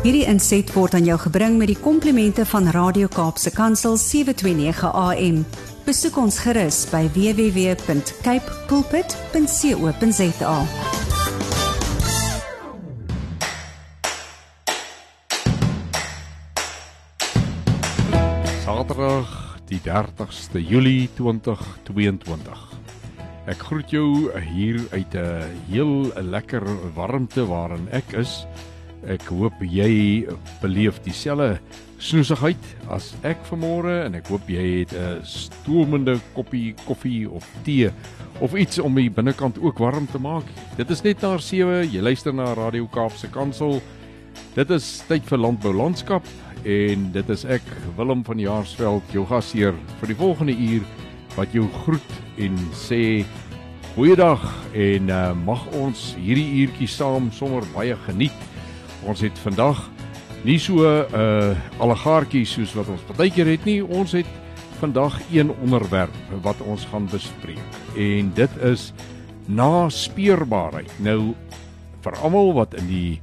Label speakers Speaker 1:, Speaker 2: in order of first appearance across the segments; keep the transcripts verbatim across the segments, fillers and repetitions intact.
Speaker 1: Hierdie inset word aan jou gebring met die komplimente van Radio Kaapse Kansel sewe twee nege A M. Besoek ons gerus by w w w punt cape pulpit punt co punt za.
Speaker 2: Saterdag die dertigste Julie twintig tweeëntwintig. Ek groet jou hier uit 'n heel lekker warmte waarin ek is. Ek hoop jy beleef dieselfde snoesigheid as ek vanmôre en ek hoop jy het 'n stoomende koppie koffie of tee of iets om die binnekant ook warm te maak. Dit is net na sewe, jy luister na Radio Kaapse Kansel. Dit is tyd vir Landbou Landskap en dit is ek, Willem van Jaarsveld, jou gasheer vir die volgende uur wat jou groet en sê goeiedag en uh, mag ons hierdie uurtjie saam sommer baie geniet. Ons het vandag nie so 'n uh, allegaartjie soos wat ons partykeer het nie. Ons het vandag een onderwerp wat ons gaan bespreek. En dit is naspeurbaarheid. Nou vir almal wat in die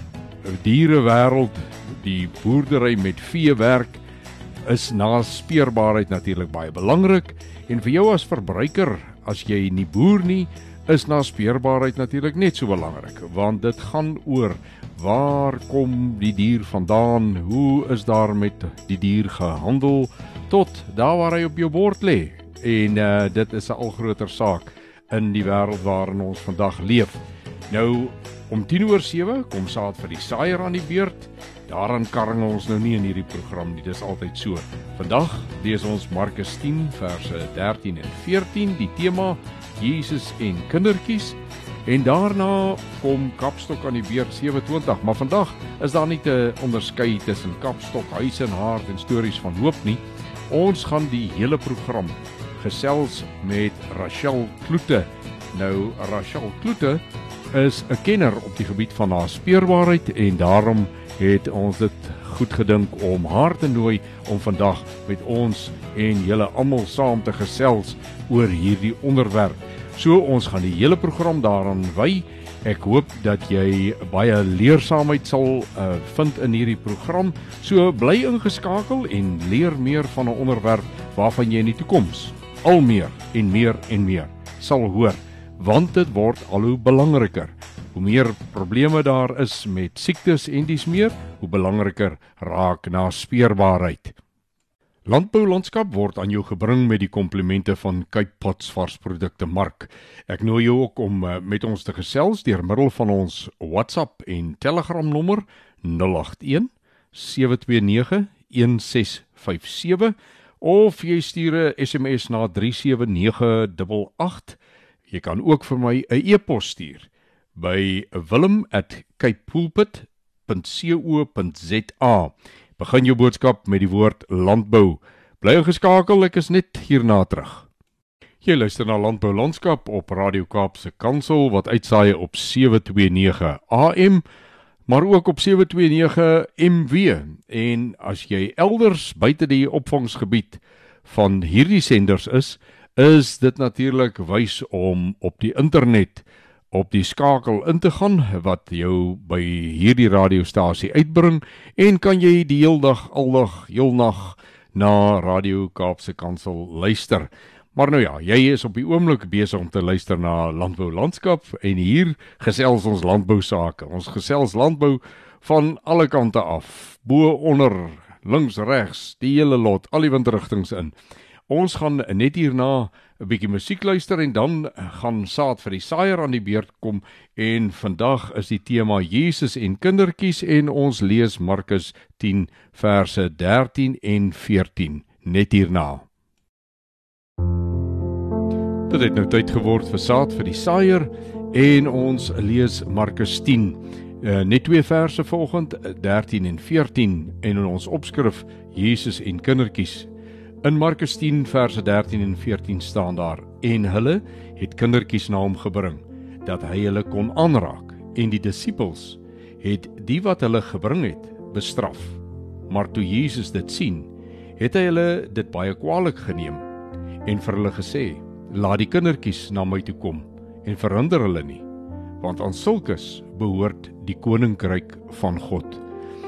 Speaker 2: dierewêreld, die boerdery met vee werk, is naspeurbaarheid natuurlik baie belangrik. En vir jou as verbruiker, as jy nie boer nie, is naspeurbaarheid natuurlik net so belangrik, want dit gaan oor waar kom die dier vandaan, hoe is daar met die dier gehandel, tot daar waar hy op jou bord lê. En uh, dit is 'n al groter saak in die wêreld waarin ons vandag leef. Nou, om tien oor sewe kom Saad vir die Saaier aan die beurt. Daaraan karring ons nou nie in hierdie program nie, dis altyd so. Vandag lees ons Markus tien verse dertien en veertien, die tema Jesus en kindertjies. En daarna kom Kapstok aan die beurt sewe twintig, maar vandag is daar nie te onderskei tussen Kapstok, Huis en Hart en stories van hoop nie. Ons gaan die hele program gesels met Rachel Kloete. Nou, Rachel Kloete is 'n kenner op die gebied van naspeurbaarheid en daarom het ons dit goed gedink om haar te nooi om vandag met ons en julle almal saam te gesels oor hierdie onderwerp. So, ons gaan die hele program daaraan wy. Ek hoop dat jy baie leersaamheid sal uh, vind in hierdie program. So, bly ingeskakel en leer meer van 'n onderwerp waarvan jy in die toekoms al meer en meer en meer sal hoor, want dit word al hoe belangriker. Hoe meer probleme daar is met siektes en dies meer, hoe belangriker raak naspeurbaarheid. Landbou Landskap word aan jou gebring met die komplimente van Cape Pots varsprodukte mark. Ek nooi jou ook om uh, met ons te gesels deur middel van ons WhatsApp en Telegram nommer nul agt een sewe twee nege een ses vyf sewe of jy stuur 'n S M S na drie sewe nege agt agt. Jy kan ook vir my 'n e-pos stuur by willem at cape pulpit punt co punt za. Begin jou boodskap met die woord landbou. Bly geskakel, ek is net hierna terug. Jy luister na Landbou Landskap op Radio Kaapse Kansel wat uitsaai op sewe twee nege A M, maar ook op sewe twee nege M W. En as jy elders buite die opvangsgebied van hierdie senders is, is dit natuurlik wys om op die internet op die skakel in te gaan wat jou by hierdie radiostasie uitbring en kan jy die heel dag, aldag, heel nag na Radio Kaapse Kansel luister. Maar nou ja, jy is op die oomblik besig om te luister na Landbou Landskap en hier gesels ons landbou sake. Ons gesels landbou van alle kante af, bo, onder, links, regs, die hele lot, al die windrigtings in. Ons gaan net hierna 'n bietjie musiek luister en dan gaan Saad vir die Saaier aan die beurt kom en vandag is die tema Jesus en kindertjies en ons lees Markus tien verse dertien en veertien net hierna. Dit het nou tyd geword vir Saad vir die Saaier en ons lees Markus tien. Uh, net twee verse volgend, dertien en veertien en in ons opskrif Jesus en kindertjies. In Markus tien verse dertien en veertien staan daar: en hulle het kindertjies na hom gebring, dat hy hulle kon aanraak, en die disippels het die wat hulle gebring het, bestraf. Maar toe Jesus dit sien, het hy hulle dit baie kwaadlik geneem, en vir hulle gesê: laat die kindertjies na my toe kom, en verhinder hulle nie, want aan sulkes behoort die koninkryk van God.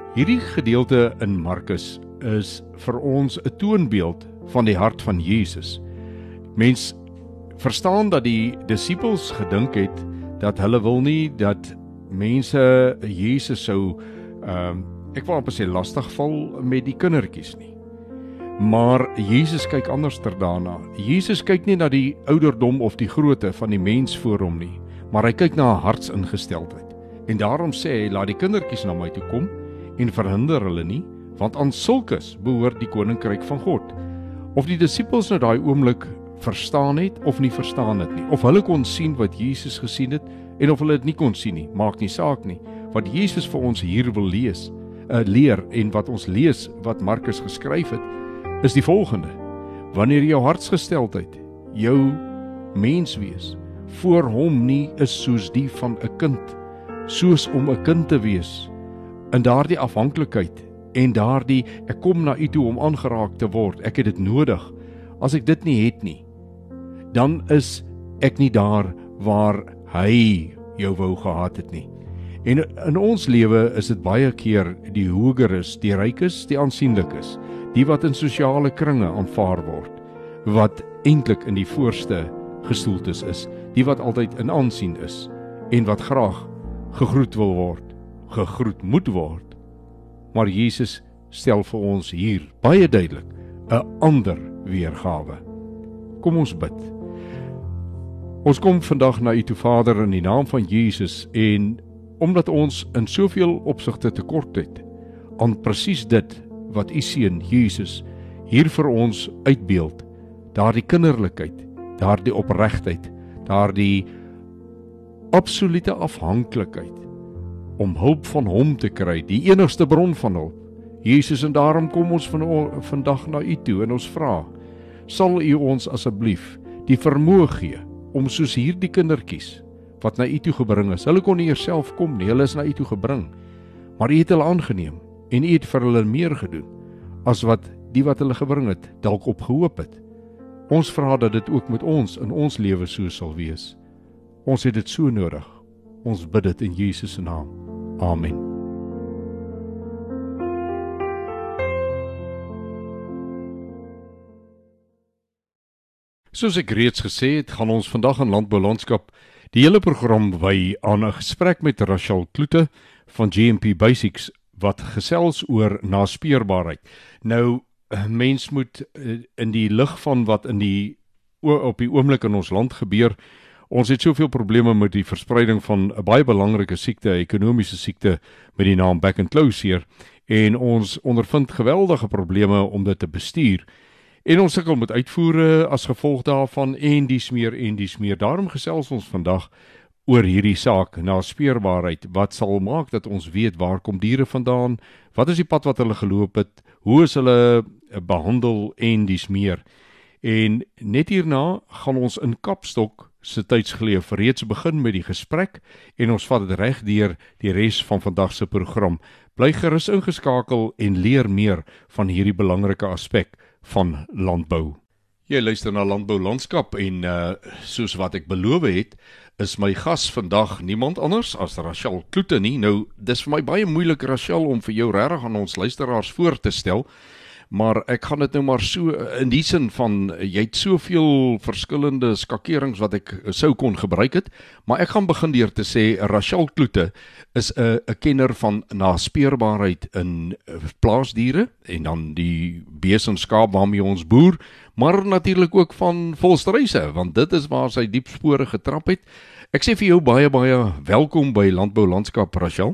Speaker 2: Hierdie gedeelte in Markus is vir ons 'n toonbeeld van die hart van Jesus. Mens verstaan dat die disippels gedink het dat hulle wil nie dat mense Jesus sou, um, ek wil amper sê lastig val met die kindertjies nie. Maar Jesus kyk anders daarna. Jesus kyk nie na die ouderdom of die grootte van die mens voor hom nie, maar hy kyk na 'n hartsingesteldheid. En daarom sê hy, laat die kindertjies na my toe kom en verhinder hulle nie, want aan sulkes behoort die koninkryk van God. Of die disippels nou daai oomblik verstaan het of nie verstaan het nie, of hulle kon sien wat Jesus gesien het en of hulle dit nie kon sien nie, maak nie saak nie. Wat Jesus vir ons hier wil lees, uh, leer en wat ons lees wat Markus geskryf het, is die volgende: wanneer jou hartsgesteldheid, jou menswees voor hom nie is soos die van 'n kind, soos om 'n kind te wees, in daardie afhanklikheid en daardie ek kom na u toe om aangeraak te word, ek het dit nodig. As ek dit nie het nie, dan is ek nie daar waar hy jou wou gehad het nie. En in ons lewe is dit baie keer die hoëgeres, die rykes, die aansienlikes, die wat in sosiale kringe aanvaar word, wat eintlik in die voorste gestoeltes is, die wat altyd in aansien is en wat graag gegroet wil word, gegroet moet word. Maar Jesus stel vir ons hier baie duidelik 'n ander weergawe. Kom ons bid. Ons kom vandag na u toe, Vader, in die naam van Jesus, en omdat ons in soveel opsigte tekort het aan presies dit wat u seun Jesus hier vir ons uitbeeld, daardie kinderlikheid, daardie opregtheid, daardie absolute afhanklikheid om hulp van hom te kry, die enigste bron van hulp. Jesus, en daarom kom ons van, vandag na u toe en ons vra, sal u ons asseblief die vermoë gee om soos hierdie kindertjies wat na u toe gebring is, hulle kon nie self kom nie, hulle is na u toe gebring, maar u het hulle aangeneem en u het vir hulle meer gedoen as wat die wat hulle gebring het dalk op gehoop het. Ons vra dat dit ook met ons in ons lewe so sal wees. Ons het dit so nodig. Ons bid dit in Jesus se naam. Amen. Soos ek reeds gesê het, gaan ons vandag in Landbou Landskap die hele program wy aan 'n gesprek met Rachel Kloete van G M P Basics wat gesels oor naspeurbaarheid. Nou, mens moet in die lig van wat in die op die oomblik in ons land gebeur, ons het soveel probleme met die verspreiding van 'n baie belangrike siekte, ekonomiese siekte met die naam back and close hier, en ons ondervind geweldige probleme om dit te bestuur. En ons sukkel met uitvoere as gevolg daarvan en dies meer en dies meer. Daarom gesels ons vandag oor hierdie saak, naspeurbaarheid, wat sal maak dat ons weet waar kom diere vandaan, wat is die pad wat hulle geloop het, hoe is hulle behandel en dies meer. En net hierna gaan ons in Kapstok se tydsgeleef reeds begin met die gesprek en ons vat dit reg deur die res van vandag se program. Bly gerus ingeskakel en leer meer van hierdie belangrike aspek van landbou. Jy luister na Landbou Landskap en uh, soos wat ek beloof het, is my gas vandag niemand anders as Rachel Kloete nie. Nou, dis vir my baie moeilik, Rachel, om vir jou regtig aan ons luisteraars voor te stel, maar ek gaan dit nou maar so, in die sin van, jy het soveel verskillende skakerings wat ek sou kon gebruik het, maar ek gaan begin deur te sê, Rachel Kloete is 'n kenner van naspeurbaarheid in plaasdiere, en dan die bees en skaap waarmee ons boer, maar natuurlik ook van volstruise, want dit is waar sy diep spore getrap het. Ek sê vir jou baie, baie welkom by Landbou Landskap, Rachel.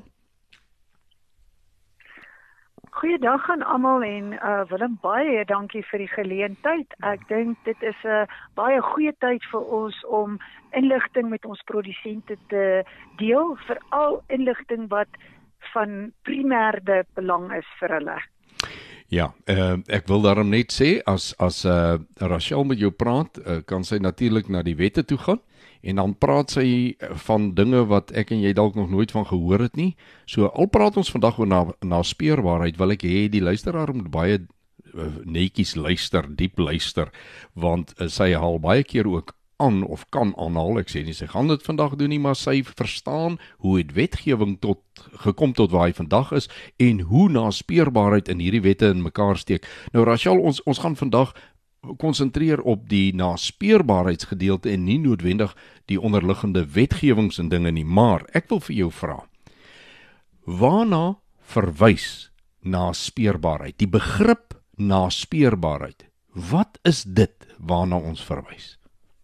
Speaker 3: Goeiedag aan almal en uh, Willem, baie dankie vir die geleentheid. Ek dink dit is 'n uh, baie goeie tyd vir ons om inligting met ons produsente te deel, veral inligting wat van primêre belang is vir hulle.
Speaker 2: Ja, uh, ek wil daarom net sê, as, as uh, Rachel met jou praat, uh, kan sy natuurlik na die wette toe gaan, en dan praat sy van dinge wat ek en jy dalk nog nooit van gehoor het nie. So al praat ons vandag oor na, naspeurbaarheid, wil ek hê die luisteraar moet baie uh, netjies luister, diep luister, want uh, sy haal baie keer ook aan of kan aanhaal, ek sê nie sy gaan dit vandag doen nie, maar sy verstaan hoe het wetgewing tot, gekom tot waar hy vandag is, en hoe naspeurbaarheid in hierdie wette in mekaar steek. Nou Rachel, ons, ons gaan vandag konsentreer op die naspeurbaarheidsgedeelte en nie noodwendig die onderliggende wetgewings en dinge nie, maar ek wil vir jou vra, waarna verwys naspeurbaarheid? Die begrip naspeurbaarheid, wat is dit waarna ons verwys?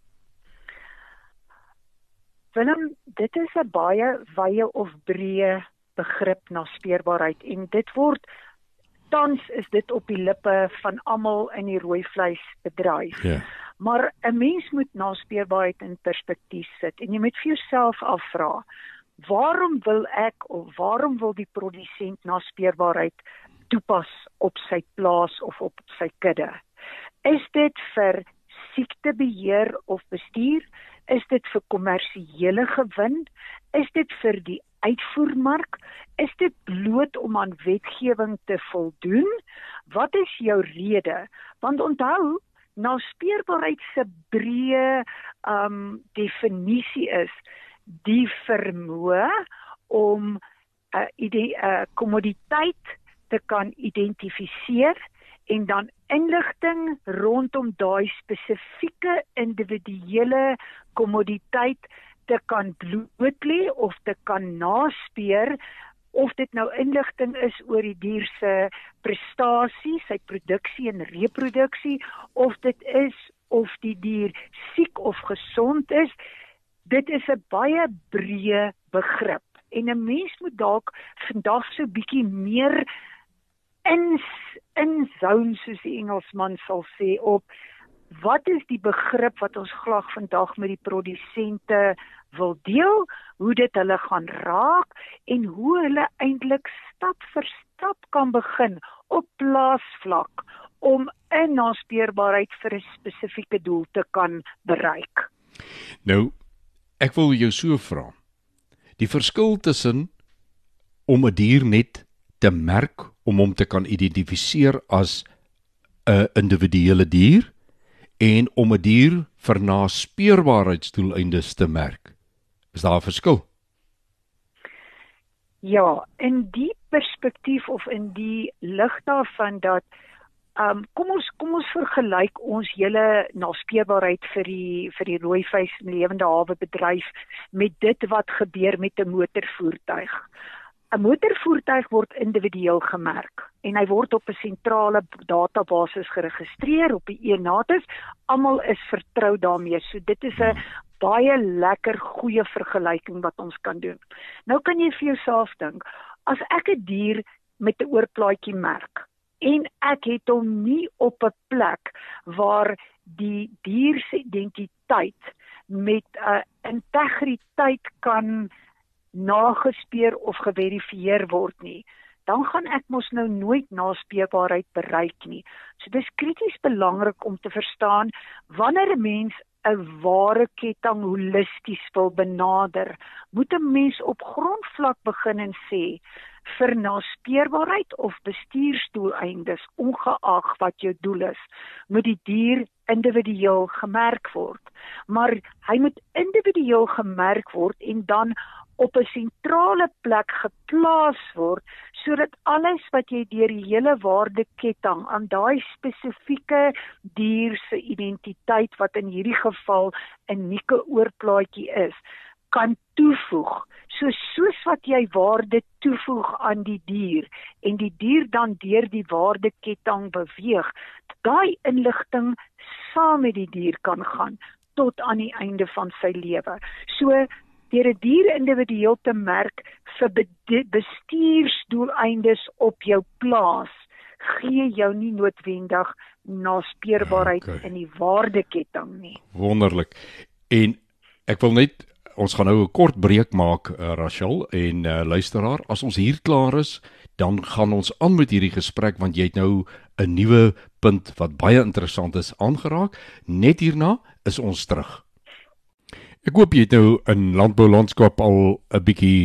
Speaker 3: Willem, dit is 'n baie wye of breë begrip naspeurbaarheid en dit word tans is dit op die lippe van almal in die rooi vleisbedryf.
Speaker 2: Ja.
Speaker 3: Maar 'n mens moet naspeurbaarheid in perspektief sit en jy moet vir jouself afvra, waarom wil ek of waarom wil die produsent naspeurbaarheid toepas op sy plaas of op sy kudde? Is dit vir siektebeheer of bestuur? Is dit vir kommersiële gewin? Is dit vir die uitvoermark? Is dit bloot om aan wetgewing te voldoen? Wat is jou rede? Want onthou, naspeurbaarheid se breë um, definisie is die vermoë om 'n uh, ide- uh, kommoditeit te kan identifiseer en dan inligting rondom daai spesifieke individuele kommoditeit te kan blootlê of te kan naspeur, of dit nou inligting is oor die dier se prestasie, sy produksie en reproduksie, of dit is of die dier siek of gesond is. Dit is 'n baie breë begrip en 'n mens moet dalk vandag so bietjie meer in in zone, soos die Engelsman sal sê, op wat is die begrip wat ons graag vandag met die produsente wil deel, hoe dit hulle gaan raak en hoe hulle eintlik stap vir stap kan begin op plaasvlak om 'n naspeurbaarheid vir 'n spesifieke doel te kan bereik.
Speaker 2: Nou, ek wil jou so vra, die verskil tussen om 'n dier net te merk, om hom te kan identifiseer as 'n individuele dier, en om 'n dier vir naspeurbaarheidsdoeleindes te merk. Is daar 'n verskil?
Speaker 3: Ja, in die perspektief of in die lig daarvan dat um, kom ons kom ons vergelyk ons hele naspeurbaarheid vir die vir die rooi vis en lewende hawe bedryf met dit wat gebeur met 'n motorvoertuig. 'n Motorvoertuig word individueel gemerk en hy word op 'n sentrale database geregistreer op die ENATIS. Almal is vertrou daarmee. So dit is 'n baie lekker goeie vergelyking wat ons kan doen. Nou kan jy vir jouself dink, as ek 'n dier met 'n oorplaatjie merk en ek het hom nie op 'n plek waar die dier se identiteit met 'n uh, integriteit kan nagespeur of geverifieer word nie, dan gaan ek mos nou nooit naspeurbaarheid bereik nie. So dis krities belangrik om te verstaan, wanneer 'n mens 'n ware ketting holisties wil benader, moet 'n mens op grondvlak begin en sê, vir naspeurbaarheid of bestuursdoeleindes, ongeag wat jou doel is, moet die dier individueel gemerk word. Maar hy moet individueel gemerk word en dan op 'n sentrale plek geplaas word, sodat alles wat jy deur die hele waardeketting aan daai spesifieke dier se identiteit, wat in hierdie geval 'n unieke oorplaatjie is, kan toevoeg. So soos wat jy waarde toevoeg aan die dier en die dier dan deur die waardeketting beweeg, daai inligting saam met die dier kan gaan tot aan die einde van sy lewe. So deur 'n dier individueel te merk vir bestuursdoeleindes op jou plaas, gee jou nie noodwendig naspeurbaarheid
Speaker 2: okay.
Speaker 3: in die waardeketting nie.
Speaker 2: Wonderlik. En ek wil net, ons gaan nou 'n kort breek maak, uh, Rachel en uh, luisteraar. As ons hier klaar is, dan gaan ons aan met hierdie gesprek, want jy het nou 'n nuwe punt wat baie interessant is aangeraak. Net hierna is ons terug. Ek hoop jy het nou in landboulandskap al 'n bietjie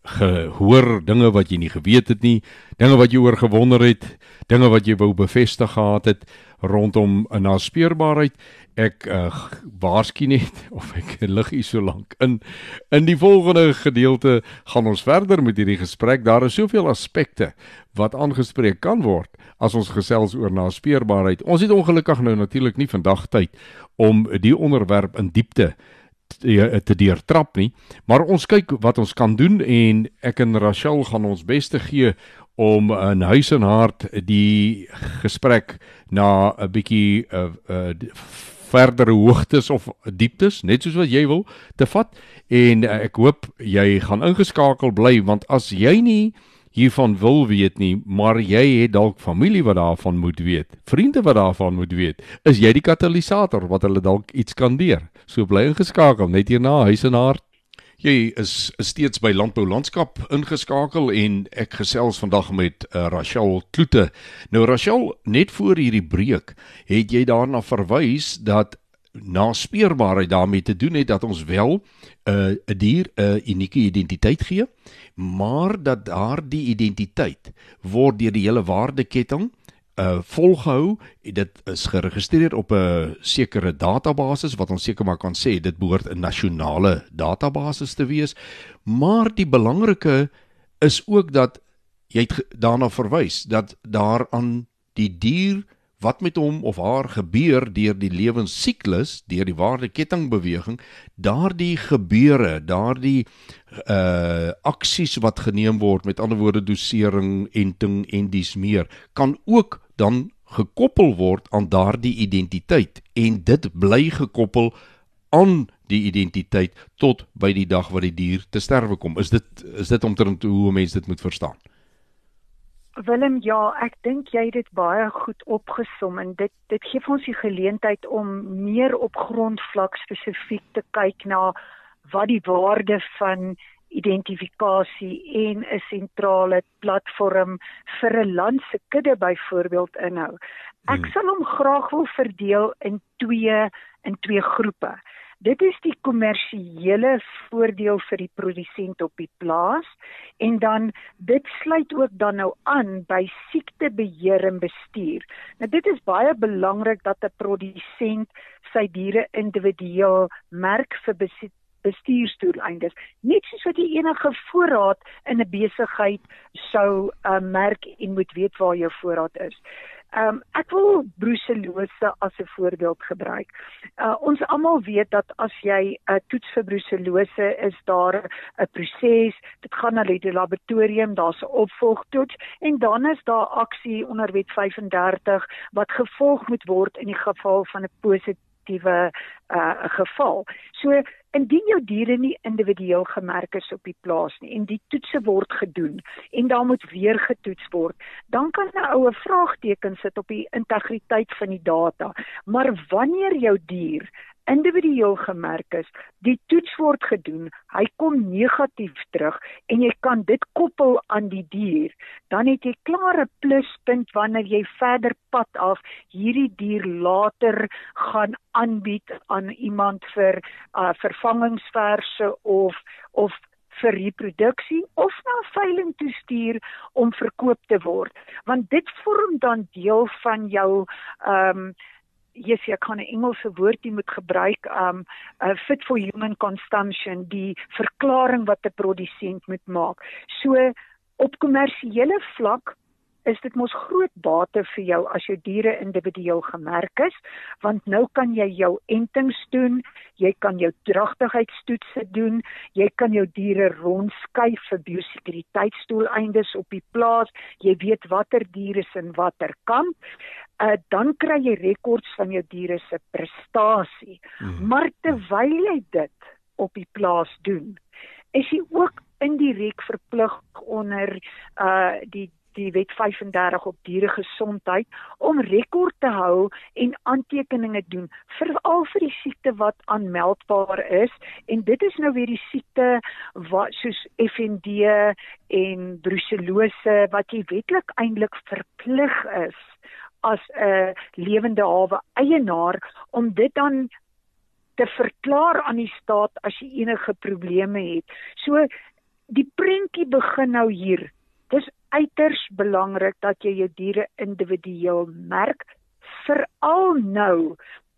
Speaker 2: gehoor, dinge wat jy nie geweet het nie, dinge wat jy oor gewonder het, dinge wat jy wou bevestig gehad het rondom 'n naspeurbaarheid. Ek uh, waarsku net, of ek lig hier so lank in. In die volgende gedeelte gaan ons verder met hierdie gesprek. Daar is soveel aspekte wat aangespreek kan word as ons gesels oor naspeurbaarheid. Ons het ongelukkig nou natuurlik nie vandag tyd om die onderwerp in diepte te, te deurtrap nie, maar ons kyk wat ons kan doen en ek en Rachel gaan ons beste gee om in huis en hart die gesprek na 'n bietjie uh, uh, verdere hoogtes of dieptes, net soos wat jy wil, te vat, en uh, ek hoop jy gaan ingeskakel bly, want as jy nie hiervan wil weet nie, maar jy het dalk familie wat daarvan moet weet, vriende wat daarvan moet weet, is jy die katalisator wat hulle dalk iets kan leer. So bly ingeskakel, net hierna huis en hart. Jy is steeds by Landbou Landskap ingeskakel en ek gesels vandag met uh, Rachel Kloete. Nou Rachel, net voor hierdie breek het jy daarna verwys dat naspeurbaarheid daarmee te doen het dat ons wel 'n uh, 'n dier 'n uh, unieke identiteit gee, maar dat daardie identiteit word deur die hele waardeketting Uh, volgehou, dit is geregistreer op 'n sekere database wat ons seker maar kan sê, dit behoort 'n nasionale database te wees, maar die belangrike is ook dat, jy het daarna verwys, dat daar aan die dier, wat met hom of haar gebeur deur die lewensiklus, deur die waardekettingbeweging, daardie gebeure, daardie uh, aksies wat geneem word, met ander woorde dosering, enting en dies meer, kan ook dan gekoppel word aan daardie identiteit, en dit bly gekoppel aan die identiteit tot by die dag wat die dier te sterwe kom. Is dit, is dit omtrent hoe 'n mens dit moet verstaan?
Speaker 3: Willem, ja, ek dink jy het dit baie goed opgesom en dit dit gee vir ons die geleentheid om meer op grondvlak spesifiek te kyk na wat die waarde van identifikasie en 'n sentrale platform vir 'n land se kudde byvoorbeeld inhou. Ek hmm. sal hom graag wil verdeel in twee in twee groepe. Dit is die kommersiële voordeel vir die produsent op die plaas, en dan dit sluit ook dan nou aan by siektebeheer en bestuur. Nou dit is baie belangrik dat 'n produsent sy diere individueel merk vir besit bestuursdoeleindes, net soos wat jy enige voorraad in 'n besigheid sou uh, merk en moet weet waar jou voorraad is. Um, ek wil brucellose as 'n voorbeeld gebruik. Uh, ons almal weet dat as jy 'n uh, toets vir brucellose, is daar 'n proses, dit gaan na die laboratorium, daar's 'n opvolgtoets, en dan is daar aksie onder wet vyf en dertig wat gevolg moet word in die geval van 'n positiewe uh, geval. So, indien jou diere nie individueel gemerk is op die plaas nie, en die toetse word gedoen, en daar moet weer getoets word, dan kan 'n ou 'n vraagteken sit op die integriteit van die data. Maar wanneer jou dier individueel gemerk is, die toets word gedoen, hy kom negatief terug, en jy kan dit koppel aan die dier, dan het jy klare pluspunt wanneer jy verder pad af hierdie dier later gaan aanbied aan iemand vir uh, vervangingsverse of of vir reproduksie of na veiling toe stuur om verkoop te word. Want dit vorm dan deel van jou um, yes, ek kan 'n Engelse woord die moet gebruik, um, uh, fit for human consumption, die verklaring wat 'n produsent moet maak. So, op kommersiële vlak is dit mos groot bate vir jou as jou diere individueel gemerk is, want nou kan jy jou entings doen, jy kan jou dragtigheidstoetse doen, jy kan jou diere rondskuif vir biosekuriteitsdoeleindes op die plaas, jy weet watter diere is in watter kamp, uh, dan kry jy rekords van jou diere se prestasie. Mm-hmm. Maar terwyl jy dit op die plaas doen, is jy ook indirek verplig onder uh, die die wet vyf en dertig op dieregesondheid, om rekord te hou en aantekeninge doen, veral vir die siekte wat aanmeldbaar is, en dit is nou weer die siekte wat, soos F N D en brucellose, wat jy wetlik eintlik verplig is as 'n lewende hawe eienaar, om dit dan te verklaar aan die staat as jy enige probleme het. So, die prentjie begin nou hier. Dis uiters belangrik dat jy jou diere individueel merk, veral nou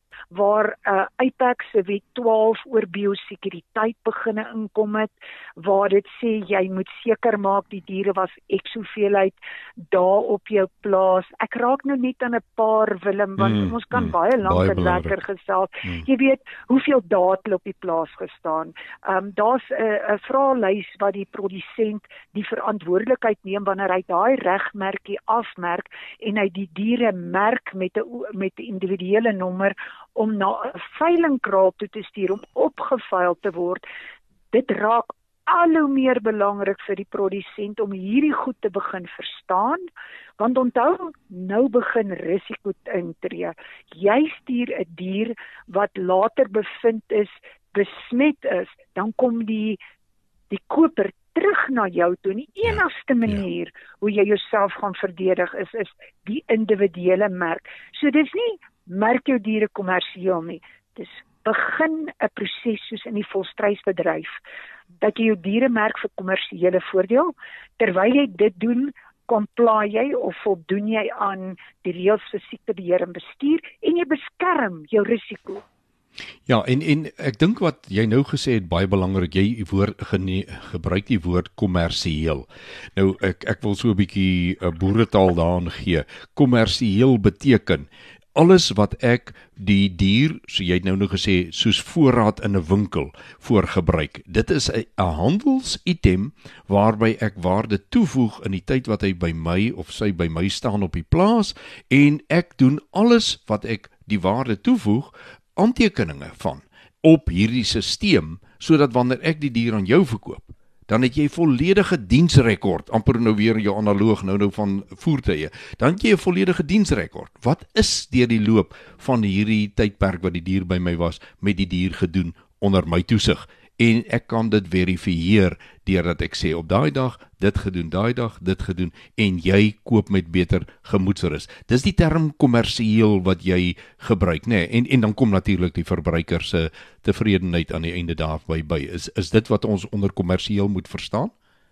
Speaker 3: waar uh, I P A C se wet twaalf oor biosekuriteit beginne inkom het, waar dit sê jy moet seker maak die diere was ek hoeveelheid daar op jou plaas. Ek raak nou net aan 'n paar, Willem, want mm, ons kan mm, baie lank en lekker gesels. Mm. Jy weet, hoeveel dae het hulle op die plaas gestaan. Um, Daar's 'n uh, vraelys wat die produsent die verantwoordelikheid neem wanneer hy daai regmerkie afmerk en hy die diere merk met 'n met 'n individuele nommer om na 'n veilingkraal toe te stuur om opgeveil te word. Dit raak al hoe meer belangrik vir die produsent om hierdie goed te begin verstaan, want onthou, nou begin risiko intree. Jy stuur 'n dier wat later bevind is, besmet is, dan kom die die koper terug na jou toe. En die enigste manier ja. hoe jy jouself gaan verdedig is, is die individuele merk. So dis nie merk jou diere kommersieel nie. Dis begin 'n proses soos in die volstrysbedryf, dat jy jou diere merk vir kommersiële voordeel. Terwyl jy dit doen, comply jy of voldoen jy aan die reëls vir siektebeheer en bestuur en jy beskerm jou risiko.
Speaker 2: Ja, en en ek dink wat jy nou gesê het baie belangrik, jy woord gene, gebruik die woord kommersieel. Nou ek ek wil so 'n bietjie uh, boeretaal daarin gee. Kommersieel beteken alles wat ek die dier, so jy het nou nou gesê, soos voorraad in 'n winkel voorgebruik. Dit is 'n handelsitem waarby ek waarde toevoeg in die tyd wat hy by my of sy by my staan op die plaas en ek doen alles wat ek die waarde toevoeg, aantekeninge van op hierdie stelsel, sodat wanneer ek die dier aan jou verkoop, dan het jy volledige diensrekord, amper nou weer jou analoog nou nou van voertuie, dan het jy 'n volledige diensrekord. Wat is deur die loop van hierdie tydperk wat die dier by my was, met die dier gedoen onder my toesig? En ek kan dit verifieer deurdat ek sê op daai dag dit gedoen, daai dag dit gedoen en jy koop met beter gemoedsrus. Dis die term kommersieel wat jy gebruik, nê? En en dan kom natuurlik die verbruiker se tevredenheid aan die einde daarby by. Is is dit wat ons onder kommersieel moet verstaan?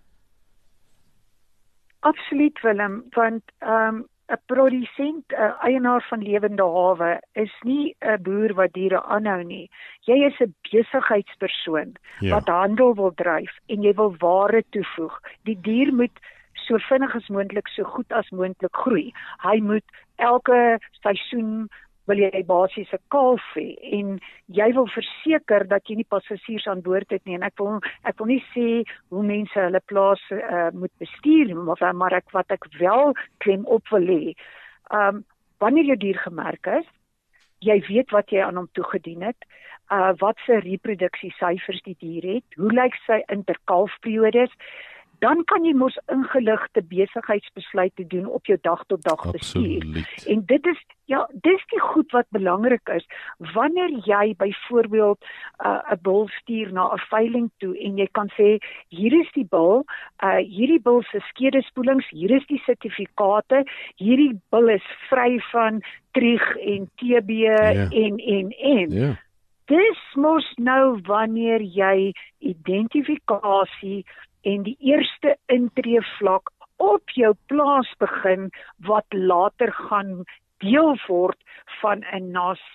Speaker 3: Absoluut, Willem, want ehm um, 'n produsent, 'n eienaar van lewende hawe is nie 'n boer wat diere aanhou nie. Jy is 'n besigheidspersoon ja. wat handel wil dryf en jy wil ware toevoeg. Die dier moet so vinnig as moontlik, so goed as moontlik groei. Hy moet elke seisoen wil jy basies 'n kalf hê en jy wil verseker dat jy nie passasiers aan boord het nie. En ek wil ek wil nie sê hoe mense hulle plaas uh, moet bestuur, maar, maar ek wat ek wel klem op wil hê. Um, wanneer jou dier gemerk is, jy weet wat jy aan hom toegedien het, uh, wat se reproduksiesyfers die dier het, hoe lyk sy interkalfperiodes, dan kan jy mos ingeligte besigheidsbesluite doen op jou dag tot dag bestuur. En dit is ja, dis die goed wat belangrik is. Wanneer jy byvoorbeeld 'n uh, bul stuur na 'n veiling toe en jy kan sê hier is die bul, uh, hierdie bul se skedespoelings, hier is die sertifikate, hierdie bul is vry van trieg en T B yeah. en en en. Yeah. Dis mos nou wanneer jy identifikasie en die eerste intreevlak op jou plaas begin, wat later gaan deel word van 'n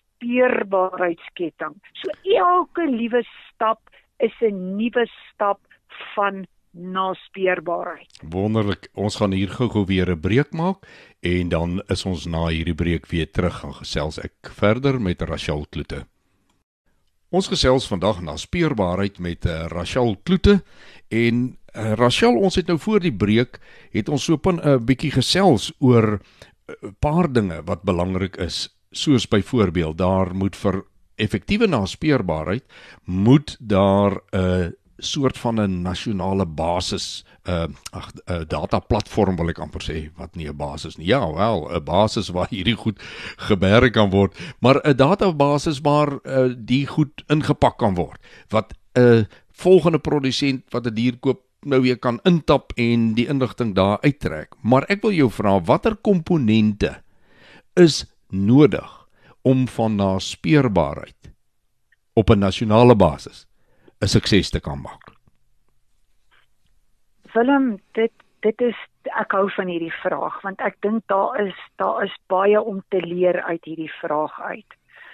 Speaker 3: naspeurbaarheidsketting. So elke liewe stap is 'n nuwe stap van naspeurbaarheid.
Speaker 2: Wonderlik, ons gaan hier gou-gou weer 'n breek maak en dan is ons na hierdie breek weer terug en gesels ek verder met Rachel Kloete. Ons gesels vandag na speurbaarheid met uh, Rachel Kloete en uh, Rachel, ons het nou voor die breek het ons so 'n uh, bietjie gesels oor 'n uh, paar dinge wat belangrik is, soos byvoorbeeld daar moet vir effektiewe naspeurbaarheid moet daar 'n uh, soort van 'n nasionale basis, uh, ag, 'n dataplatform wil ek amper sê, wat nie 'n basis nie. Ja, wel, 'n basis waar hierdie goed geberg kan word, maar 'n databasis waar uh, die goed ingepak kan word, wat 'n uh, volgende produsent wat 'n dier koop nou weer kan intap en die inligting daar uittrek. Maar ek wil jou vra, watter komponente is nodig om van naspeurbaarheid op 'n nasionale basis 'n sukses te kan maak?
Speaker 3: Willem, dit dit is ek hou van hierdie vraag want ek dink daar is daar is baie om te leer uit hierdie vraag uit.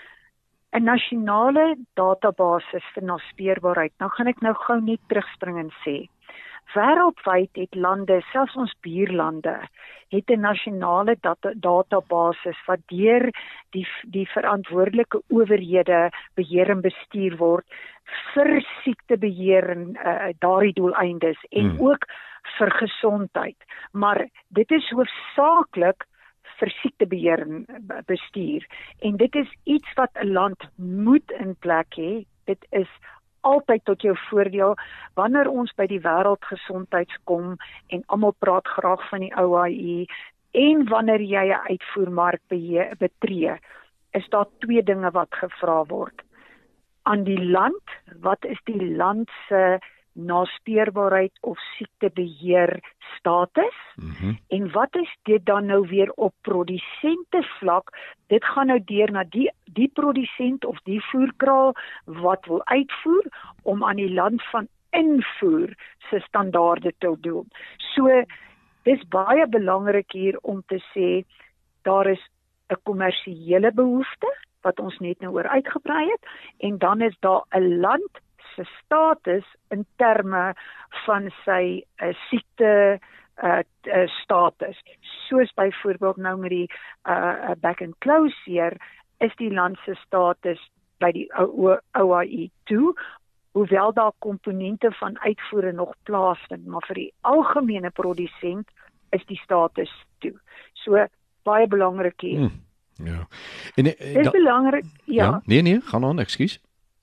Speaker 3: 'n Nasionale database vir naspeurbaarheid. Nou gaan ek nou gou net terugspring en sê, wêreldwyd het lande, selfs ons buurlande, het 'n nasionale data, database wat deur die die verantwoordelike owerhede beheer en bestuur word vir siektebeheer en uh, daardie doeleindes en hmm. ook vir gesondheid. Maar dit is hoofsaaklik vir siektebeheer en bestuur. En dit is iets wat 'n land moet in plek hê. Dit is altyd tot jou voordeel wanneer ons by die wêreldgesondheids kom en almal praat graag van die O I E en wanneer jy 'n uitvoermark betree, is daar twee dinge wat gevra word. Aan die land, wat is die land se naspeurbaarheid of siektebeheer status mm-hmm. en wat is dit dan nou weer op produsente vlak? Dit gaan nou deur na die die produsent of die voerkraal wat wil uitvoer om aan die land van invoer se standaarde te doen. So dis baie belangrik hier om te sê daar is 'n kommersiële behoefte wat ons net nou oor uitgebrei het en dan is daar 'n land se status in terme van sy uh, siekte uh, uh, status. Soos byvoorbeeld nou met die uh, back and close hier is die land se status by die O I E toe, hoewel daar komponente van uitvoere nog plaasvind, maar vir die algemene produsent is die status toe. So baie belangrik hier. Hmm,
Speaker 2: ja. En, uh,
Speaker 3: Dit is belangrik, ja.
Speaker 2: ja. Nee nee, gaan aan, ekskuus.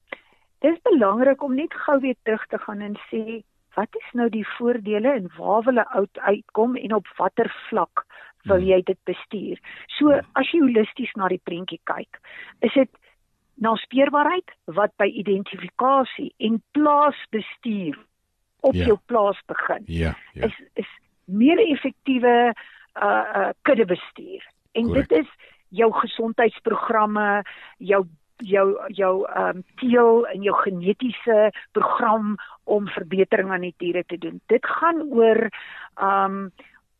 Speaker 3: Dit is belangrik om net gou weer terug te gaan en sê, wat is nou die voordele en waar wil 'n oud uitkom en op watter vlak wil jy dit bestuur? So, as jy holisties na die prentjie kyk, is dit naspeurbaarheid wat by identifikasie en plaasbestuur op ja. jou plaas begin.
Speaker 2: Ja, ja.
Speaker 3: Is, is meer effektiewe uh, uh, kuddebestuur. En Correct. Dit is jou gesondheidsprogramme, jou jou jou um, teel en jou genetiese program om verbetering aan die diere te doen. Dit gaan oor um,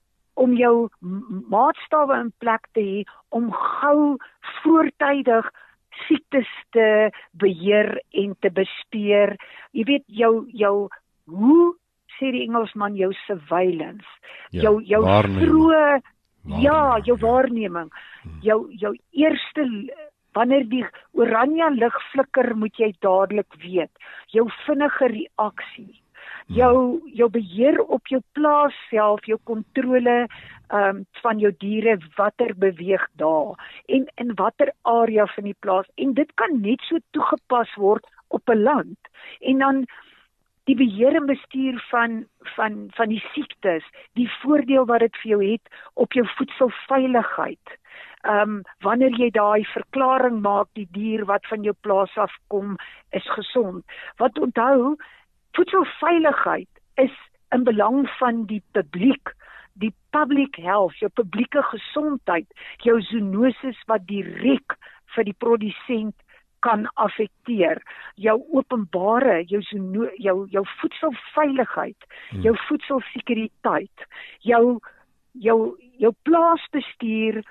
Speaker 3: om jou maatstawwe in plek te hê om gou voortydig siektes te beheer en te bespeer. Jy weet jou jou hoe sê die Engelsman jou surveillance,
Speaker 2: ja,
Speaker 3: jou jou vroeë ja, jou waarneming,
Speaker 2: Hmm.
Speaker 3: jou jou eerste wanneer die oranje lig flikker, moet jy dadelik weet. Jou vinnige reaksie, jou jou beheer op jou plaas self, jou kontrole um, van jou diere, watter beweeg daar en in watter area van die plaas. En dit kan net so toegepas word op 'n land. En dan die beheer en bestuur van van van die siektes, die voordeel wat dit vir jou het op jou voedselveiligheid. Um, wanneer jy daai verklaring maak, die dier wat van jou plaas afkom, is gesond. Wat onthou, voedselveiligheid is in belang van die publiek, die public health, jou publieke gesondheid, jou zoonoses wat direk vir die produsent kan affekteer, jou openbare, jou zoono, jou jou voedselveiligheid, hmm. jou voedselsekuriteit, jou jou jou plaasbestuur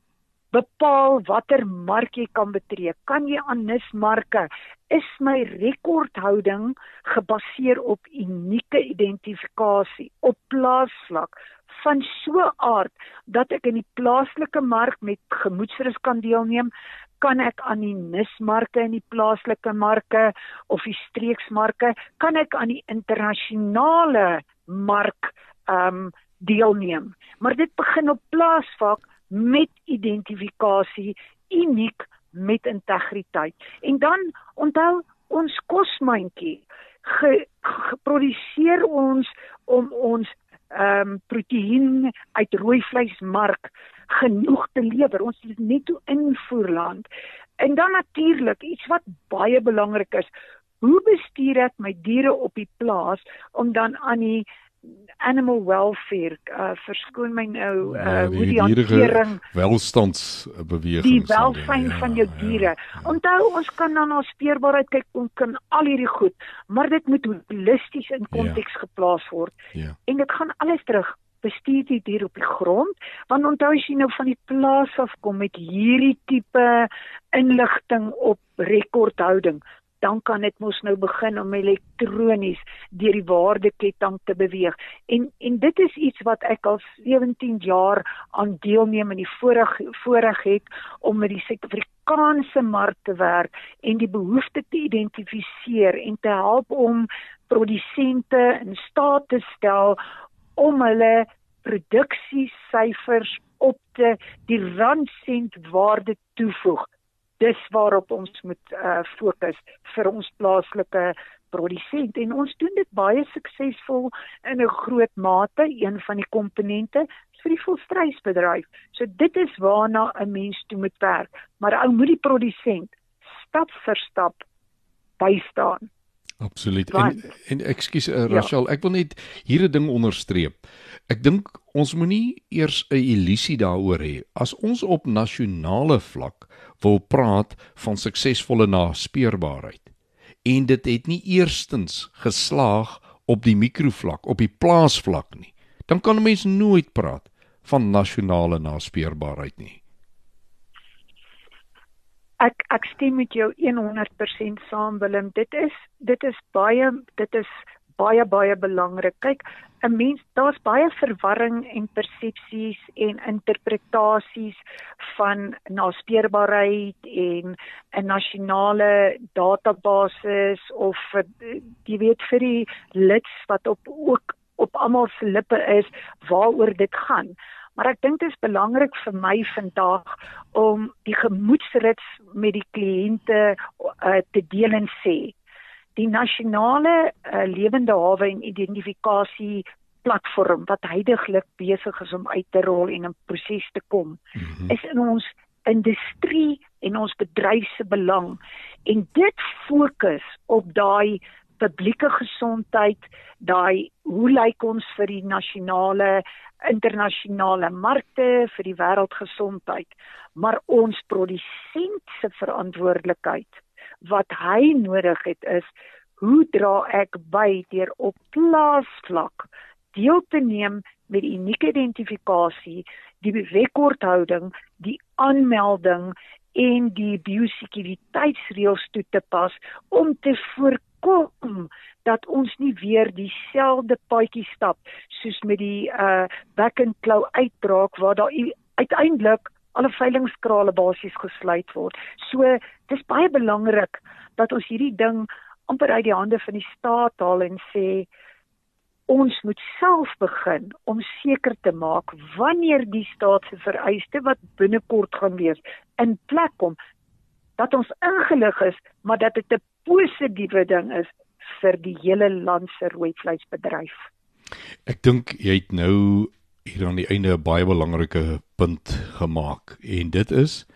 Speaker 3: bepaal watter mark jy kan betree. Kan jy aan nismarke? Is my rekordhouding gebaseer op unieke identifikasie op plaasvlak van so aard dat ek in die plaaslike mark met gemoedsrus kan deelneem? Kan ek aan die nismarke in die plaaslike marke of die streeksmarke? Kan ek aan die internasionale mark um, deelneem? Maar dit begin op plaasvlak met identifikasie, uniek met integriteit. En dan onthou ons kosmandjie, ge, geproduseer ons om ons um, proteïen uit rooi vleismark genoeg te lewer. Ons is net 'n invoerland. En dan natuurlik iets wat baie belangrik is, hoe bestuur ek my diere op die plaas om dan aan die animal welfare, uh, verskoon my nou, uh,
Speaker 2: Ja,
Speaker 3: hoe die hantering,
Speaker 2: welstandsbeweging,
Speaker 3: die welsyn
Speaker 2: ja,
Speaker 3: van jou diere. Ja, ja. Onthou, ons kan dan na speerbaarheid kyk, ons kan al hierdie goed, maar dit moet holisties in konteks ja. geplaas word.
Speaker 2: Ja.
Speaker 3: En dit gaan alles terug. Bestuur die dier op die grond, want onthou as jy nou van die plaas afkom met hierdie tipe inligting op rekordhouding, dan kan dit mos nou begin om elektronies deur die waardeketting te beweeg. En en dit is iets wat ek al sewentien jaar aan deelneem in die voorreg, voorreg het om met die Suid-Afrikaanse mark te werk en die behoefte te identifiseer en te help om produsente in staat te stel om hulle produksiesyfers op te die randsent waarde toevoeg. Dis waarop ons moet uh, fokus vir ons plaaslike produsent. En ons doen dit baie suksesvol in 'n groot mate. Een van die komponente is vir die volstrysbedryf. So dit is waarna 'n mens toe moet werk. Maar ou moet die produsent stap vir stap bystaan.
Speaker 2: Absoluut. En, en ekskuus uh, Rachel, ja. ek wil net hier 'n ding onderstreep. Ek dink ons moenie eers 'n illusie daaroor hê. As ons op nasionale vlak wil praat van suksesvolle naspeurbaarheid en dit het nie eerstens geslaag op die mikrovlak, op die plaasvlak nie, dan kan 'n mens nooit praat van nasionale naspeurbaarheid nie.
Speaker 3: Ek ek stem met jou honderd persent saam, Willem. Dit is dit is baie dit is baie baie belangrik. Kyk, 'n mens, daar's baie verwarring en persepsies en interpretasies van naspeurbaarheid en 'n nasionale database of jy weet vir die lids wat op ook op almal se lippe is waaroor dit gaan. Maar ek dink dit is belangrik vir my vandag om die gemoedsrits met die kliënte uh, te deel en sê. Die nasionale uh, lewende hawe en identifikasie platform wat heidaglik besig is om uit te rol en in proses te kom, mm-hmm. is in ons industrie en ons bedryf se belang. En dit fokus op daai publieke gesondheid, daai hoe lyk ons vir die nasionale, internasionale markte, vir die wêreldgesondheid, maar ons produsent se verantwoordelikheid, wat hy nodig het is, hoe dra ek by deur op plaasvlak deel te neem met die unieke identifikasie, die rekordhouding, die aanmelding en die biosekuriteitsreëls toe te pas om te voorkom dat ons nie weer dieselfde paadjie stap soos met die uh, back and claw uitbraak waar daar uiteindelik alle veilingskrale basies gesluit word. So dis baie belangrik dat ons hierdie ding amper uit die hande van die staat haal en sê ons moet self begin om seker te maak wanneer die staat se vereiste wat binnekort gaan wees in plek kom, dat ons ingelig is, maar dat dit 'n positiewe ding is vir die hele land se rooi vleisbedryf.
Speaker 2: Ek dink jy het nou hier aan die einde 'n baie belangrike punt gemaak en dit is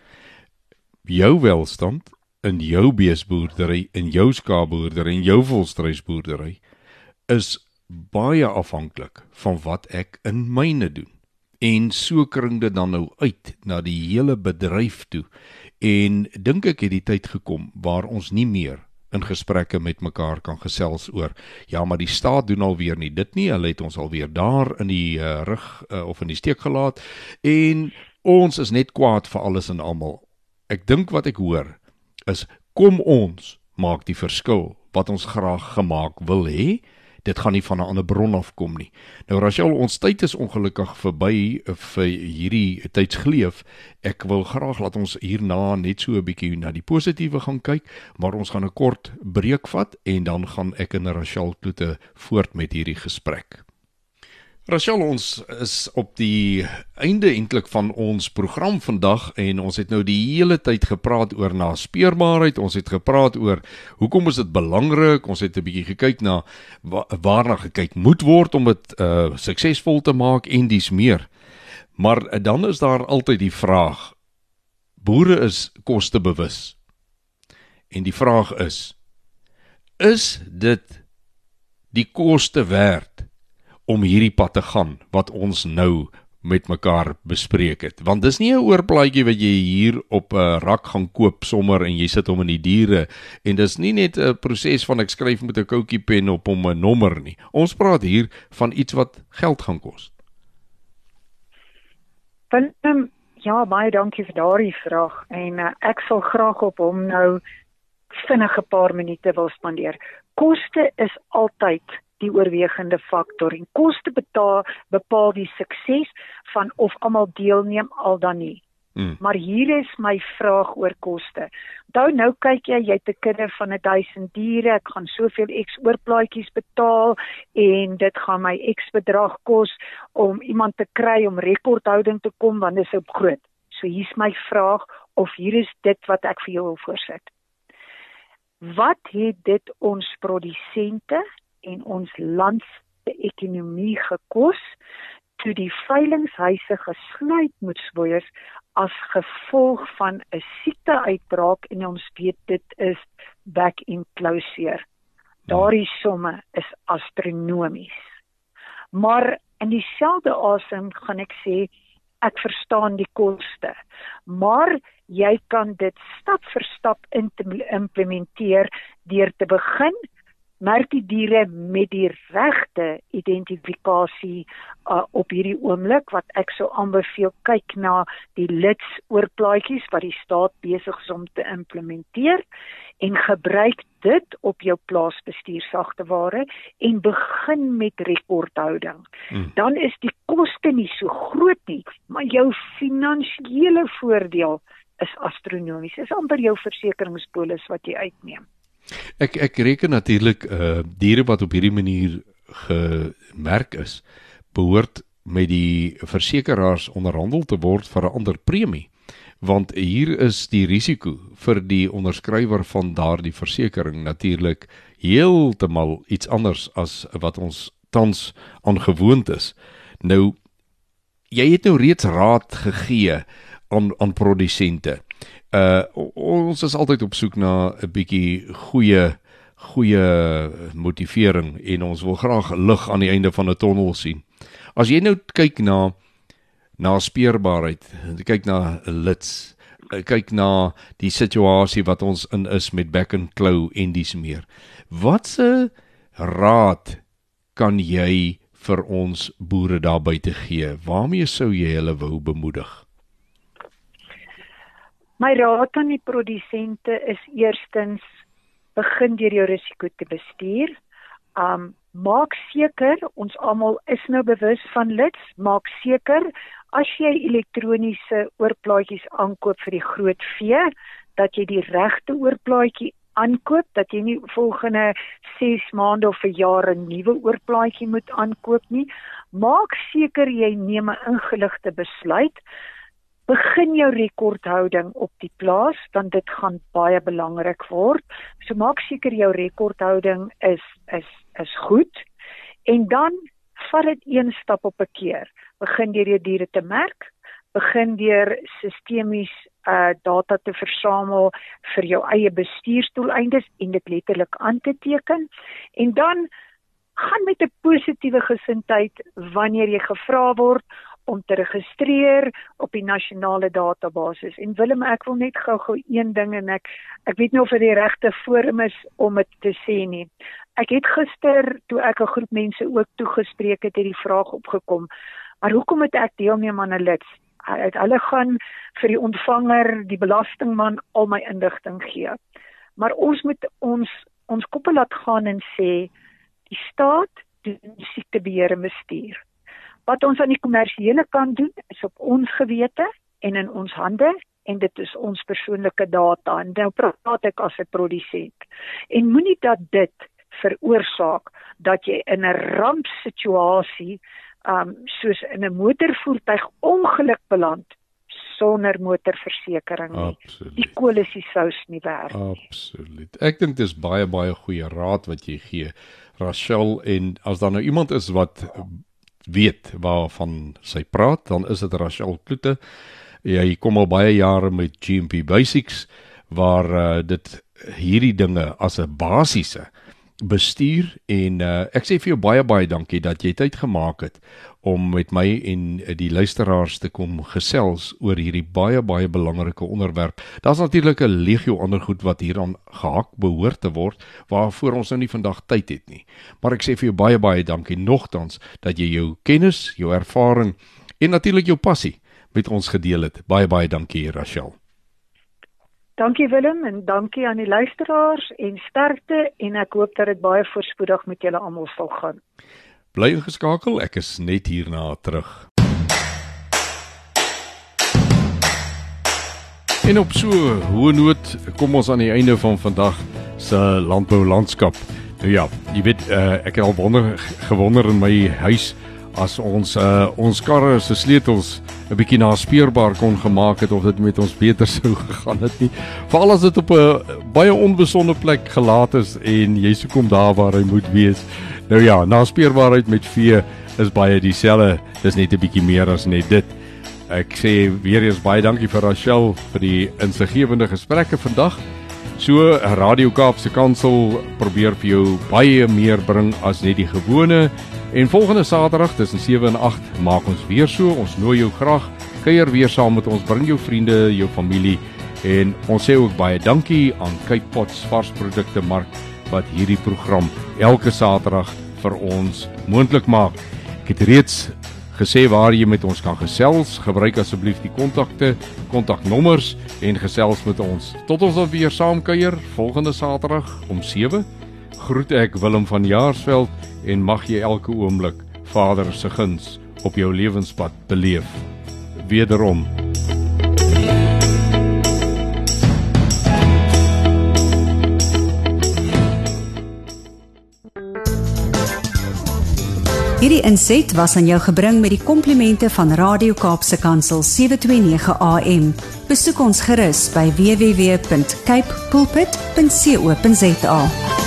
Speaker 2: jou welstand in jou beesboerdery, in jou skaapboerdery en jou volstruisboerdery is baie afhanklik van wat ek in myne doen. En so kring dit dan nou uit na die hele bedryf toe. En dink ek het die tyd gekom waar ons nie meer in gesprekke met mekaar kan gesels oor, ja, maar die staat doen alweer nie dit nie, hulle het ons alweer daar in die uh, rug uh, of in die steek gelaat, en ons is net kwaad vir alles en almal. Ek dink wat ek hoor, is kom ons maak die verskil wat ons graag gemaak wil hê. Dit gaan nie van 'n ander bron afkom nie. Nou Rachel, ons tyd is ongelukkig verby vir hierdie tydsgleef. Ek wil graag laat ons hierna net so 'n bietjie na die positiewe gaan kyk, maar ons gaan 'n kort breek vat en dan gaan ek en Rachel Kloete voort met hierdie gesprek. Rachel, ons is op die einde eintlik van ons program vandag en ons het nou die hele tyd gepraat oor naspeurbaarheid, ons het gepraat oor hoekom is dit belangrik, ons het 'n bietjie gekyk na wa waarna gekyk moet word om dit uh, suksesvol te maak en dies meer. Maar uh, dan is daar altyd die vraag, boere is kostebewus. En die vraag is, is dit die koste werd om hierdie pad te gaan wat ons nou met mekaar bespreek het. Want dis nie 'n oorplaatjie wat jy hier op 'n uh, rak gaan koop sommer en jy sit hom in die diere en dis nie net 'n proses van ek skryf met 'n koutjie pen op hom 'n nommer nie. Ons praat hier van iets wat geld gaan kos.
Speaker 3: Willem, ja, baie dankie vir daardie vraag en uh, ek sal graag op hom nou vinnig 'n paar minute wil spandeer. Koste is altyd die oorwegende faktor en koste betaal, bepaal die sukses van of almal deelneem al dan nie. Mm. Maar hier is my vraag oor koste. Onthou nou kyk jy, jy het 'n kudde van duisend diere, ek gaan soveel X oorplaatjies betaal en dit gaan my X bedrag kos om iemand te kry om rekordhouding te kom want dit is op groot. So hier's my vraag of hier is dit wat ek vir jou wil voorsit. Wat het dit ons produsente en ons land se ekonomie gekos toe die veilinghuise gesluit moes word as gevolg van 'n siekteuitbraak en ons weet dit is back in closure. Daardie somme is astronomies. Maar in dieselfde asem gaan ek sê ek verstaan die koste, maar jy kan dit stap vir stap implementeer deur te begin merk die diere met die regte identifikasie uh, op hierdie oomblik wat ek sou aanbeveel kyk na die lits oorplaatjies wat die staat besig is om te implementeer en gebruik dit op jou plaasbestuursagteware en begin met rekordhouding. Hmm. Dan is die koste nie so groot nie, maar jou finansiële voordeel is astronomies. Dit is amper jou versekeringspolis wat jy uitneem.
Speaker 2: Ek ek reken natuurlik uh, diere wat op hierdie manier gemerk is, behoort met die versekeraars onderhandel te word vir 'n ander premie, want hier is die risiko vir die onderskrywer van daardie versekering natuurlik heeltemal iets anders as wat ons tans aangewoond is. Nou, jy het nou reeds raad gegee aan aan produsente. Uh, ons is altyd op soek na 'n bietjie goeie goeie motivering en ons wil graag lig aan die einde van 'n tonnel sien. As jy nou kyk na na speerbaarheid, kyk na lits, kyk na die situasie wat ons in is met back and claw en dies meer. Watse raad kan jy vir ons boere daar buite gee? Waarmee sou jy hulle wou bemoedig?
Speaker 3: My raad aan die produsente is eerstens begin deur jou risiko te bestuur. Um, maak seker, ons almal is nou bewus van lits, maak seker as jy elektroniese oorplaatjies aankoop vir die groot vee, dat jy die regte oorplaatjie aankoop, dat jy nie volgende ses maande of 'n jaar 'n nuwe oorplaatjie moet aankoop nie. Maak seker jy neem 'n ingeligte besluit. Begin jou rekordhouding op die plaas, want dit gaan baie belangrik word. So maak seker jou rekordhouding is is is goed en dan vat dit een stap op 'n keer. Begin deur jou diere te merk, begin deur sistemies uh, data te versamel vir jou eie bestuursdoeleindes en dit letterlik aan te teken en dan gaan met 'n positiewe gesindheid wanneer jy gevra word om te registreer op die nasionale database. En Willem, ek wil net gou-gou een ding en ek ek weet nie of dit die regte forum is om dit te sê nie. Ek het gister, toe ek 'n groep mense ook toegespreek het, het die vraag opgekom, maar hoekom moet ek deelneem aan 'n lits? Hulle gaan vir die ontvanger, die belastingman, al my inligting gee. Maar ons moet ons ons koppe laat gaan en sê, die staat doen siektebeheer en bestuur. Wat ons aan die kommersiële kant doen, is op ons gewete en in ons hande, en dit is ons persoonlike data, en nou praat ek as 'n produsent. En moenie dat dit veroorsaak, dat jy in 'n rampsituasie, um, soos in 'n motorvoertuig ongeluk beland, sonder motorversekering nie.
Speaker 2: Absoluut.
Speaker 3: Die kool is die sous nie werd nie.
Speaker 2: Absoluut. Ek dink dis baie, baie goeie raad wat jy gee, Rachel, en as daar nou iemand is wat weet waarvan sy praat, dan is dit Rachel Kloete. Jy kom al baie jare met G M P Basics, waar uh, dit hierdie dinge as 'n basiese bestuur en uh, ek sê vir jou baie baie dankie dat jy tyd gemaak het om met my en die luisteraars te kom gesels oor hierdie baie baie belangrike onderwerp. Daar's natuurlik 'n legio ander goed wat hieraan gehak behoort te word waarvoor ons nou nie vandag tyd het nie. Maar ek sê vir jou baie baie dankie nogtans dat jy jou kennis, jou ervaring en natuurlik jou passie met ons gedeel het. Baie baie dankie Rachel.
Speaker 3: Dankie Willem en dankie aan die luisteraars en sterkte en ek hoop dat dit baie voorspoedig met julle almal sal gaan.
Speaker 2: Bly ingeskakel, ek is net hierna terug. En op so hoë noot kom ons aan die einde van vandag se landbou landskap. Nou ja, jy weet uh, ek het al wonder gewonder in my huis as ons uh, ons karre se sleutels 'n bietjie naspeurbaar kon gemaak het of dit met ons beter sou gegaan het nie. Veral as dit op 'n baie onbesonde plek gelaat is en jy soek hom daar waar hy moet wees. Nou ja, naspeurbaarheid met vee is baie dieselfde. Dis net 'n bietjie meer as net dit. Ek sê weer eens baie dankie vir Rachel vir die insiggewende gesprekke vandag. So Radio Kaapse Kansel probeer vir jou baie meer bring as net die gewone. En volgende Saterdag tussen sewe en agt maak ons weer so. Ons nooi jou graag kuier weer saam met ons. Bring jou vriende, jou familie en ons sê ook baie dankie aan Cape Pots varsprodukte mark wat hierdie program elke Saterdag vir ons moontlik maak. Ek het reeds gesê waar jy met ons kan gesels. Gebruik asseblief die kontakte, kontaknommers en gesels met ons. Tot ons dan weer saam kuier volgende Saterdag om sewe. Groet ek Willem van Jaarsveld en mag jy elke oomblik Vader se guns op jou lewenspad beleef. Wederom.
Speaker 1: Hierdie inset was aan jou gebring met die komplimente van Radio Kaapse Kansel sewe twee nege A M. Besoek ons gerus by w w w punt cape pulpit punt co punt za.